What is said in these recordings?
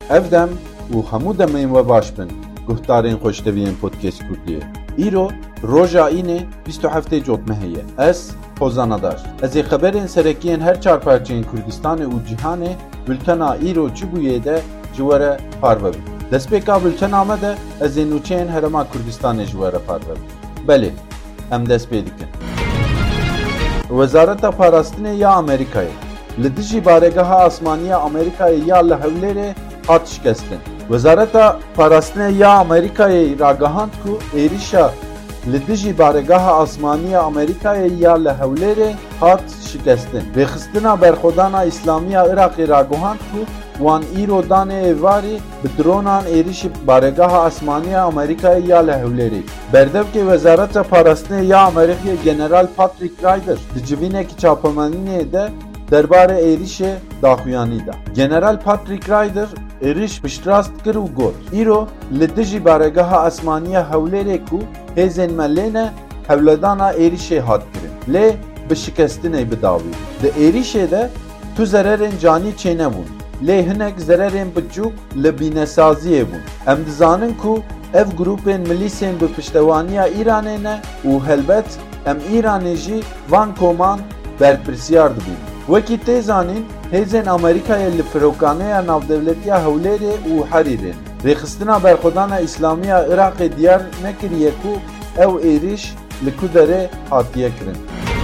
Evdem û hemû demên we baş bin guhdarên xweşteviyên Podcast Kurdiyê. Îro roja înê 27 Cotmehê ye. Ez Hozanadar. Ez ê xeberên serekiyên her çar parçeyên Kurdistanê û cîhanê bültena îro çi bûyê de ji we re parve bin. Destpêka bültena me de ez ê nûçeyên Herêma Kurdistanê ji we re parve bin. Belê, em dest pê dikin. Wezareta Parastinê ya Amerîkayê li dijî baregeha asmaniya Amerîkayê ya li Hewlêrê hat şikestin. Wezareta Parastinê ya Amerîkayê ragihand ku êrişa li dijî baregeha asmaniya Amerîkayê ya li Hewlêrê hat şikestin. Rêxistina berxwedana İslamiya Iraqê ragihand ku wan îro danê êvarî bi dronan êrişî baregeha asmaniya Amerîkayê ya li Hewlêrê. Berdevkê Wezareta Parastinê ya Amerîkayê General Patrick Ryder di civînekî çapemenînê de derbarê êrişê daxuyanî da. General Patrick Ryder êriş piştrast kir û got îro li dijî baregeha asmaniya Hewlêrê ku hêzên me lêne hewledana êrişê hat kirin. Lê bi şikestinê bidawî. Di êrişê de tu zererên canî çênebûn. Lê hinek zererên biçûk li bînesaziyê bûn. Em dizanin ku ev grûpên milîsên bi piştewaniya Îranê ne û helbet em Îranê jî van koman berpirsiyar dibînin. Wekî tê zanîn hêzên Amerîkayê li firokaneya navdewletiya Hewlêrê û Herîrê ne. Rêxistina berxwedana İslamiya Iraqê diyar nekiriye ku ew êriş li ku derê hatiye kirin.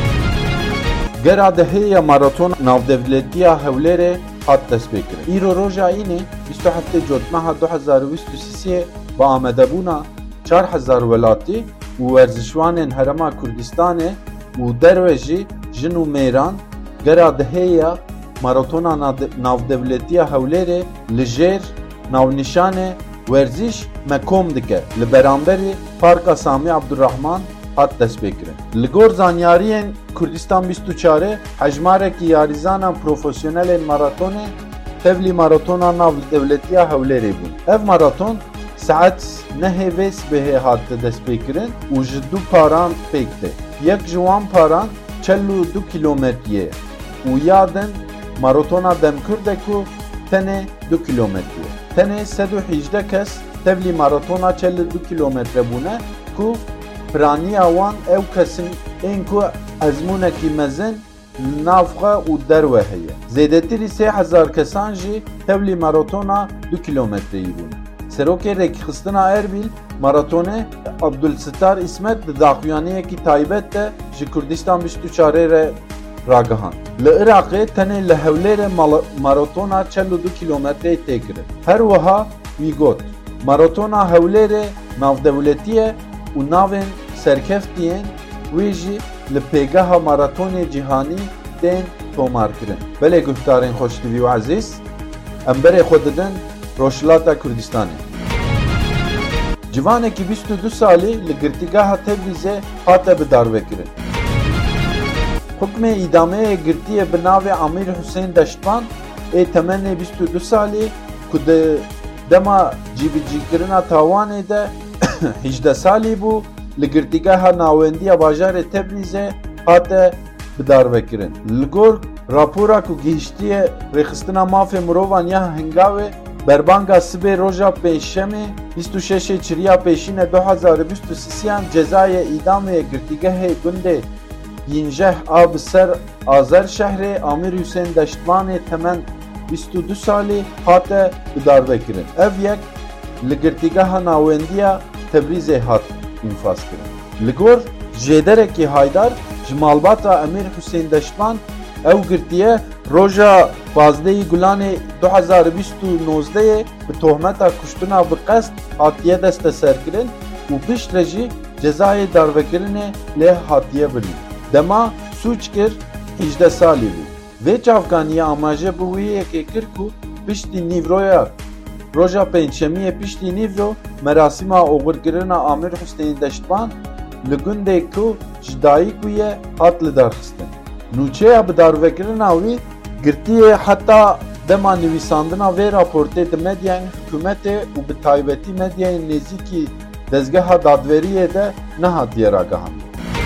Gera dihêya maraton navdewletiya Hewlêrê hat destpêkirin. Îro roja înê 27 Cotmeha 2023 bi amedebûna 4000 welatî û werzişwanên Herêma Kurdistanê û derve jî jin û mêran gera dihêya maratona navdewletiya Hewlêrê li jêr navnîşanê werziş me kom dike li beramberî Parka Samî Abdurrahman hat destpêkirin. Li gor zanyariyên Kurdistan 24 hejmarekî yarizana profesyonelên maratonê tevlî maratona navdewletiya Hewlêrê bûn. Ev maraton saet nehê vê sibehê hat destpêkirin û ji du paran pêk tê. Yek ji wan paran 42 kilometreyê û ya din maratona Demkirde ku tenê 2 kilometreyê. Tenê 118 kes tevlî maratona 42 kilometre bûne ku piraniya wan ew kesin ên ku ezmûnekî mezin nav xwe û derve heye. Zêdetirî 3000 kesan jî tevlî maratona 2 kilometreyî bûne. Serokê Rêkxistina Erbil maratonê Abdulsittar İsmet di daxuyaniyekî taybet de ji Kurdistan 24 re ragihand. Li Iraqê tenê li Hewlêrê maratona 42 kilometreyê tê kirin. Her wiha wî got maratona Hewlêrê navdewletî ye û navên serkeftiyên wê jî li pêgeha maratonê cîhanî tên tomarkirin. Belê guhdarên xweştevî û ezîz, em berê xwe didin Rojhilata Kurdistanê. Civanekî 22 salî li girtîgeha Tebrizê hate bidarvekirin. Hukmê îdameyê girtiye bi navê Amîr Hüseyn Deştvan ê temenê 22 salî ku di dema cîbicîkirina tawanê de 18 salî bû li girtîgeha nawendiya bajarê Tebrizê hate bidarvekirin. Li gor rapora ku gihîştiye rêxistina mafê mirovan ya Hingavê berbanga sibê roja pênşemê 26 çiriya pêşînê 2023 cezayê îdamê girtîgehê gundê Yinjeh a bi ser Azer şehrê Amîr Hüseyn Deştvanê temen 22 salî hate bidarvekirin. Ev yek li girtîgeha nawendiya Tebrizê hat infaz kirin. Li gor jêderekî Haydar ji malbata Amîr Hüseyn Deştvan ew girtiye roja 15 Gulanê 2029 bi tohmeta kuştina bi qest hatiye desteserkirin û piştre jî cezayê darvekirinê lê hatiye birin. Dema sûç kir 18 salî bû. Vê çavkaniya amaje bi wî yekê kir ku piştî nîvroya roja pênçemiyê piştî nîvro merasîma oxirkirina Amîr Hüseyn Deştvan li gundê ku ji dayîk bûye hat lidarxistin. Nûçeya bidarvekirina wî girtiye heta dema nivîsandina vê raportê di medyayên hikûmetê û bi taybetî medyayên nêzîkî dezgeha dadveriyê de nehatiye ragihandin.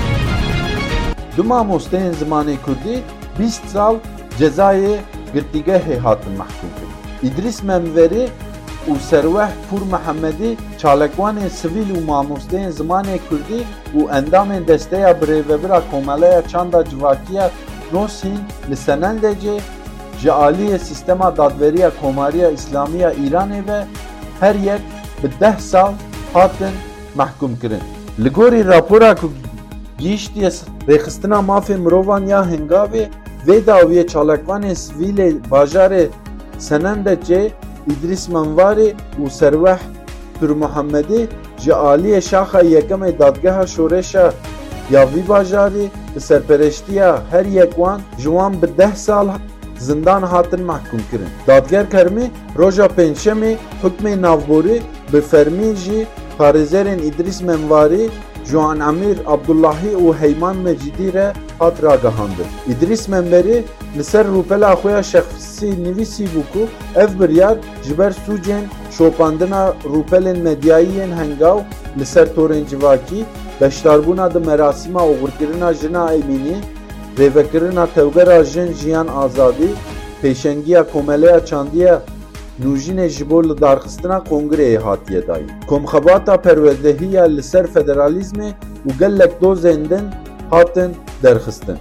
Du mamosteyên zimanê Kurdî 20 sal cezayê girtîgehê hatin mehkûm kirin. İdris Menveri û Serweh Pur Mehemedî çalekwanên sivîl û mamosteyên zimanê Kurdî û endamên desteya birêvebira Komeleya Çanda Civakiya Nosîn li Senendecê ji aliyê sîstema dadveriya Komariya İslami ya Îranê ve her yek bi 10 sal hatin mehkum kirin. Li gorî rapora ku gihîştiye rêxistina mafê mirovan ya hengavê vê dawiyê çalekwanên sivîlê bajarê Senendecê İdris Menvarî û Serweh Pir Muhemedî ji aliyê şaxa yekemê dadgeha şoreşa ya vî bajarî bi serpereştiya her yek wan ji wan bi 10 sal zindan hatin mehkum kirin. Dadger Kermî roja pênçemê hukmê navborî bi fermî jî parêzerên İdris Menvarî, Juan Emîr Abdullahî û Heyman Mecidî re hat ragihandin. İdris Menverî li ser rûpela xwe ya şexsî nivîsî bû ku ev biryar ji ber sûcên şopandina rûpelên medyayî yên hengav li ser torên civakî, beşdarbûna di merasîma oxirkirina jina Emînî, rêvekirina tevgera jin jiyan azadî, pêşengiya Komeleya Çandiya Nûjînê ji bo li darxistina Kongreyê hatiye dayîn. Komxebata perwedehiya li ser federalîzmê û gelek dozên din hatin derxistin.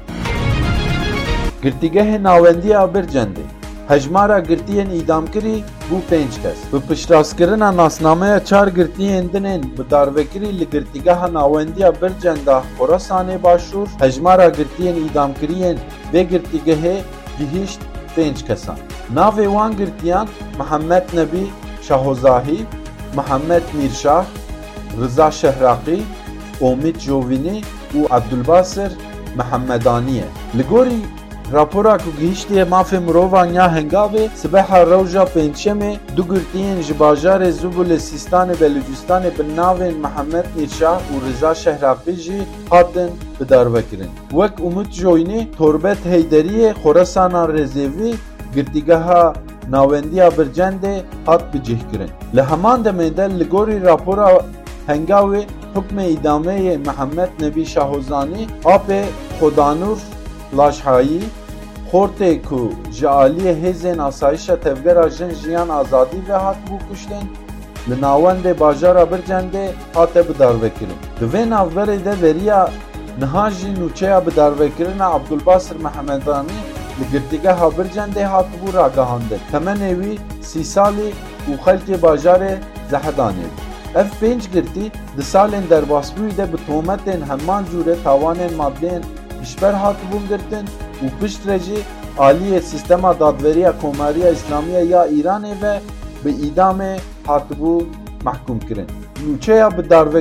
Girtîgehê nawendiya Bircendê hejmara girtiyên îdamkirî bû 5 kes. Bi piştrastkirina nasnameya 4 girtiyên dinên bi darvekirî li girtîgeha nawendiya Bircenda Xorasanê başûr, hejmara girtiyên îdamkiriyên vê girtîgehê gihîşt 5 kesan. Navê wan girtiyan Mihemed Nebî Şahozahî, Mihemed Mîrşah, Rıza Şehraqî, Omid Jovînî û Abdulbasir Mihemmedanî ye. Li gorî rapora ku gihîştiye mafê mirovan ya hengavê sibeha rewja pênçemê du girtiyên ji bajarê Zûbulê Sîstanê Belûcistanê bi navên Mihemed Mîrşah û Rıza Şehraqî jî hatin bidarvekirin. Wek Umid Jovînî Torbet Heyderiyê Xorasana Rezêvî girtîgeha nawendiya Bircendê hat bicihkirin. Li heman demê de li gorî rapora hengavê hukmê îdameyê Mihemed Nebî Şahozanî apê Xodanûr Laşhayî xortê ku ji aliyê hêzên asayişa tevgera jin jiyan azadî ve hat bû kuştin li navendê bajara Bircendê hate bidarvekirin. Di vê navberê de veriya niha jî nûçeya bidarvekirina Abdulbasir Mihemmedanî li girtîgeha Bircendê hat bû ragihandin. Temenê wî 30 salî û xelkê bajarê Zehedanê bû. Ev 5 girtî di salên derbasbûyî de bi tohmetên heman cûre tawanên maddeyên pişber hatibûn girtin û piştre jî aliyê sîstema dadveriya Komariya İslami ya Îranê ve bi îdamê hatibû mehkum kirin. Nûçeya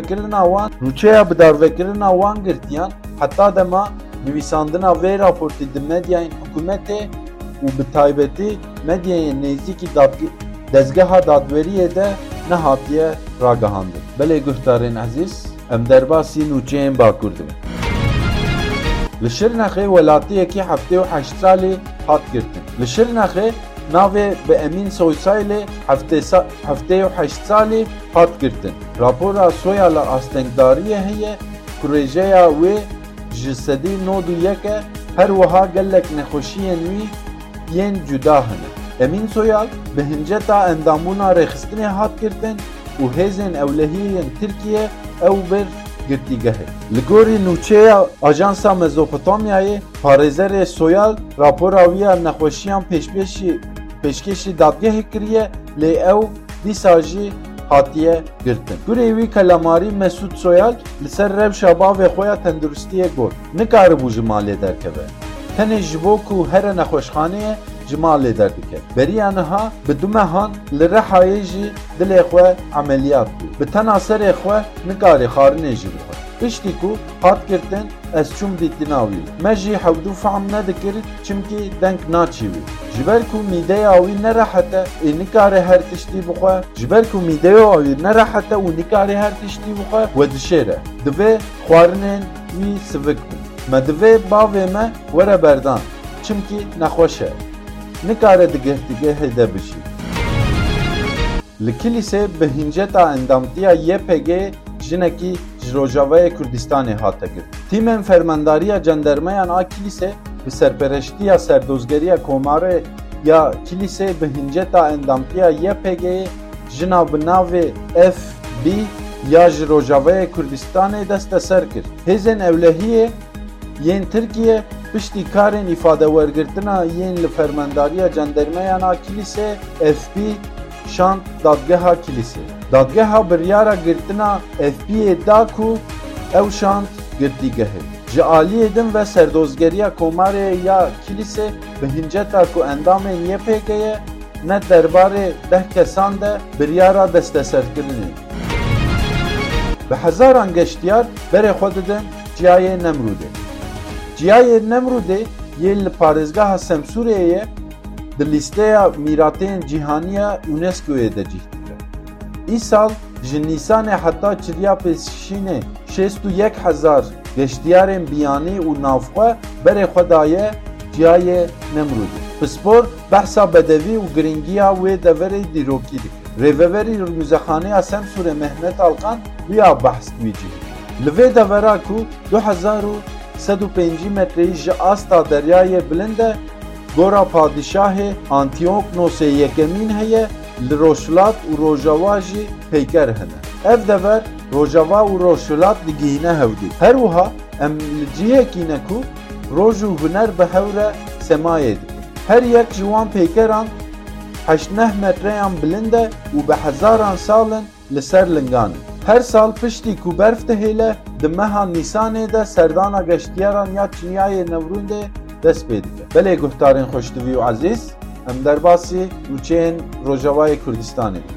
bidarvekirina wan girtiyan heta dema nivîsandina vê raportê di medyayên hikûmetê û bi taybetî medyayên nêzîkî dezgeha dadveriyê de nehatiye ragihandin. Belê guhdarên ezîz, em derbasî nûçeyên Bakur dibin. Li Şirnexê welatiyekî 78 salî hat girtin. Li Şirnexê navê bi Emîn Soysaylê 78 salî hat girtin. Rapora Soya li Astengdariyê heye ku rêjeya wê ji sedî 91 her wiha gelek nexweşiyên wî yên cuda hene. Emîn Soyal bi hinceta endamûna rêxistinê hat girtin û hêzên ewlehiyên Tirkiye ew bir girtîgehê. Li gorî nûçeya Ajansa Mezopotamyayê parêzerê Soyal rapora wî ya nexweşiyan pêşkêşî dadgehê kiriye lê ew dîsa jî hatiye girtin. Gurê wî kelamarî Mesûd Soyal li ser rewşa bavê xwe ya tenduristiyê got. Nikaribû ji malê derkeve. Tenê ji bo ku here nexweşxaneyê ji malê derdike. Beriya niha bi du mehan li Rihayê jî dilê xwe emeliyat bû. Bi tena serê xwe nikarê xarinê jî bixwe. Piştî ku hat girtin ez çûm dîtina wî. Me jî hewdû fehm nedikir çimkî deng naçî wî. Ji ber ku mîdeya wî nerehete ê nikare her tiştî bixwe, ji ber ku mîdeya wî nerehete û nikare her tiştî bixwe we dişêre. Divê xwarinên wî sivik bin. Me divê bavê me were berdan. Çimkî nexweş e. Nikare di girtîgehê de bişî. Li Kilîsê bi hinceta endamtiya YPG jinekî ji Rojavayê Kurdistanê hate girtin. Tîmên fermendariya cendermeyan a Kilîsê bi serpereştiya serdozgeriya Komarê ya kilise bi hinceta endamtiya YPG jina bi navê FB ya ji Rojavayê Kurdistanê desteser kir. Hêzên Ewlehiyê yên Tirkiye piştî karên îfadewergirtina yên li fermendariya cendermeyana kilîsê FB şand dadgeha kilîsê. Dadgeha biryara girtina FB'yê da ku ew şand girtîgehê. Ji aliyê din ve serdozgeriya komarê ya kilîsê bi hinceta ku endamên YPG'ye ne derbarê 10 kesan de biryara desteserkirinê. Bi hezaran geştiyar berê xwe didin Ciyayê Nemrûdê. Ciyayê Nemrûdê yê li parêzgeha Semsûreyê di lîsteya mîratên cîhaniya UNESCO'yê de cih dike. Îsal ji Nîsanê heta çiriya pêşînê 61,000 geştiyarên biyanî û navxwe berê xwe daye Ciyayê Nemrûdê. Bi spor behsa bedevî û giringiya wê deverê dîrokî dike. Rêveberî Muzexaneya Semsûrê Mehmet Alkan wiya behs wî cih. Li vê devera ku 2105 metreyî ji asta deryayê bilind e, gora padişahê Antiyoknosê yekemîn heye, li Rojhilat û Rojava jî peyker hene. Ev dever Rojava û Rojhilat digihîne hewdî. Her wiha em li cihekî ne ku roj û huner bi hewre semayê dike. Her yek ji wan peykeran 8 metreyan bilind e û bi hezaran salin li ser lingan e. Her sal piştî ku berf dihêle di meha Nîsanê de serdana geştiyaran ya Ciyayê Nemrûdê dest pê dike. Belê guhdarên xweşdivî û ezîz, em derbasî rûçeyên Rojavayê Kurdistanê dikin.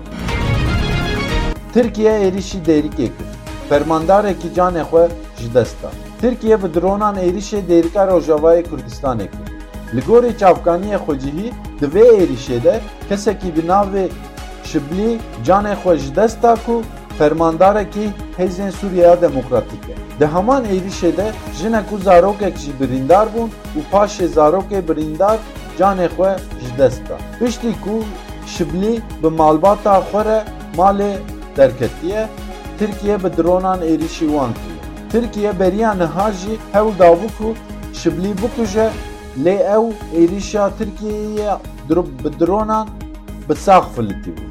Tirkiye êrişî Dêrikê kir. Fermandarekî canê xwe ji dest da. Tirkiye bi dronan êrişê Dêrika Rojavayê Kurdistanê kir. Li gorî çavkaniyê xwecihî di vê êrişê de kesekî bi navê Şiblî canê xwe ji dest da ku fermandarekî Hêzên Sûriya Demokratîk e. Di heman êrişê de jinek û zarokek jî birîndar bûn û paşê zarokê birîndar canê xwe ji dest da. Piştî ku Şiblî bi malbata xwe re malê derketiye, Tirkiye bi dronan êrişî wan kiriye. Tirkiye beriya niha jî hewl dabû ku Şiblî bikuje, lê ew êrişa Tirkiyeyê bi dronan bi sax filîtî bû.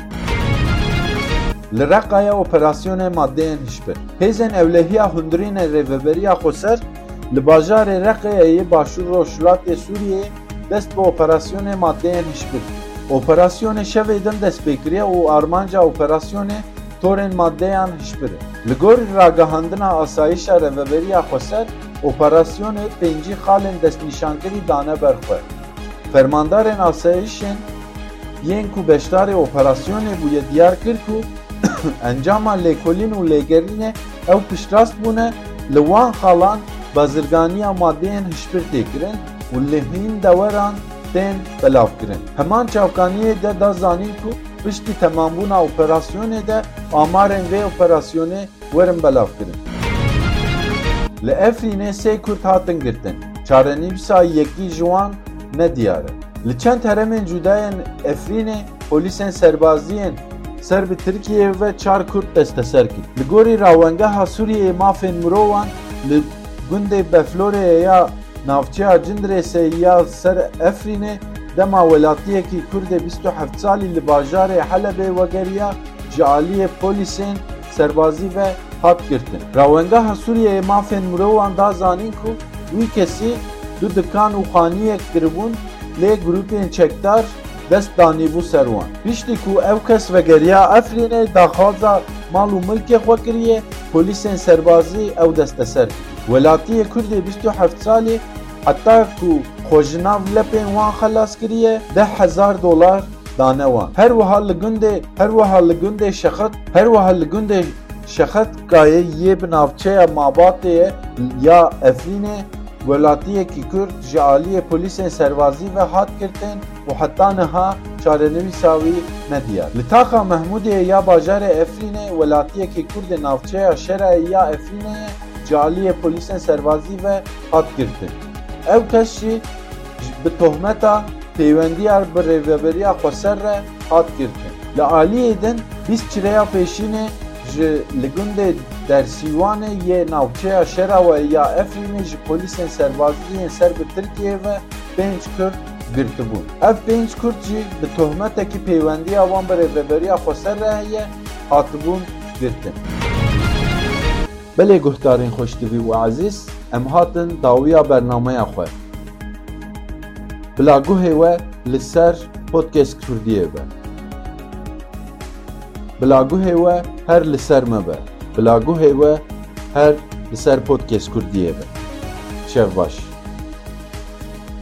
Li Reqayê operasyonê maddeyên hişbir. Hêzên Ewlehiya hundirînê rêveberiya Xweser li bajarê Reqayê başûr Rojhilatê Sûriyeyê dest bi operasyonê maddeyên hişbir. Operasyonê şevê din destpêkiriye û armanca operasyonê torên maddeyan hişbir e. Li gorî ragihandina asayişa rêveberiya Xweser, operasyonê 5 xalên destnîşankirî dane ber xwe. Fermandarên asayişên yên ku beşdarê operasyonê bûye diyar kir ku encama lêkolîn û lêgerînê ew piştrast bûne li wan xalan bazirganiya maddeyên hişbir têkirin û li hîn deweran tên belavkirin. Heman çavkaniyê de da zanîn ku piştî temambûna operasyonê de amarên vê operasyonê werin belavkirin. Li Efrînê sê Kurd hatin girtin. Çarenivîsa yekî ji wan nediyar e. Li çend heremên cudayên Efrînê polîsên serbaziyên ser bi Tirkiye ve 4 Kurd desteser kir. Li gorî rawengeha Sûriyeyê mafên mirovan li gundê Befloreyê ya navçeya Cindrêsê ya ser Efrînê dema welatiyekî Kurdê 27 salî li bajarê Helebê vegeriya ji aliyê polîsên serbazî ve hat girtin. Rawengeha Sûriyeyê mafên mirovan da zanîn ku wî kesî du dikan û xaniyek kiribûn lê grûpên çekdar dest danîbû ser wan. Piştî ku ew kes vegeriya Efrînê daxwaza mal û milkê xwe kiriye, polîsên serbazî ew desteser kir. Welatiyê Kurdê 27 salî heta ku xwejinav lepên wan xelas kiriye $10,000 dane wan. Her wiha li gundê Şexet gayê yê bi navçeya Mabatê ya Efrînê welatiyekî Kurd ji aliyê polîsên serbazî ve hat girtin û heta niha çarenivîsa wî nediyar. Li taxa Mehmûdê ya bajarê Efrînê welatiyekî Kurdê navçeya Şerayê ya Efrînê ji aliyê polîsên serbazî ve hat girtin. Ew kes jî bi tohmeta pêwendiya bi rêveberiya Xweser re hat girtin. Li aliyê din 20 çireya pêşînê ji li gundê Dersîwanê yê navçeya Şerawê ya Efrînê ji polîsên serbaziyên ser bi Tirkiye ve 5 Kurd girtibûn. Ev pênc Kurd jî bi tohmetekî peywendiya wan bi rêveberiya Xweser re heye hatibûn girtin. Belê guhdarên xweşdivî û ezîz, em hatin dawiya bernameya xwe. Bilagûhê we li ser Podcast Kurdiyê be. Bilagûhê we her li ser me be. Bilagûhê we her li ser Podcast Kurdiyê be. Şev baş.